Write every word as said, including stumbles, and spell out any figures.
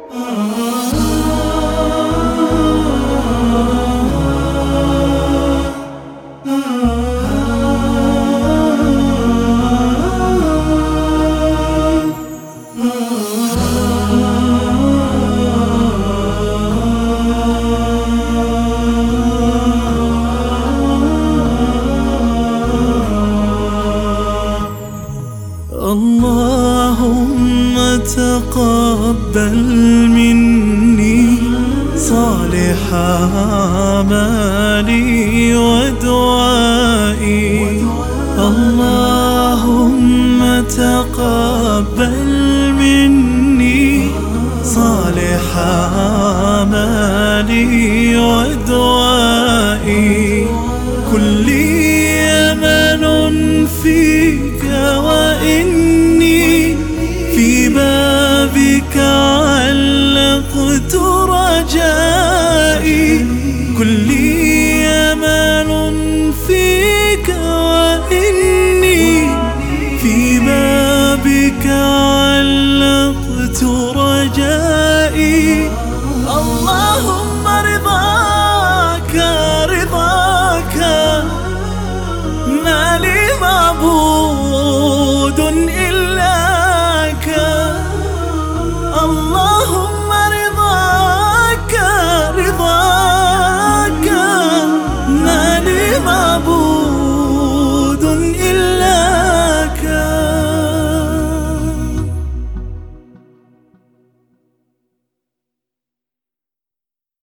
اللهم تقبل مني صالح أعمالي ودعائي. اللهم تقبل مني صالح أعمالي ودعائي. كلي أمل فيك وإني في بابك علقت رجائي.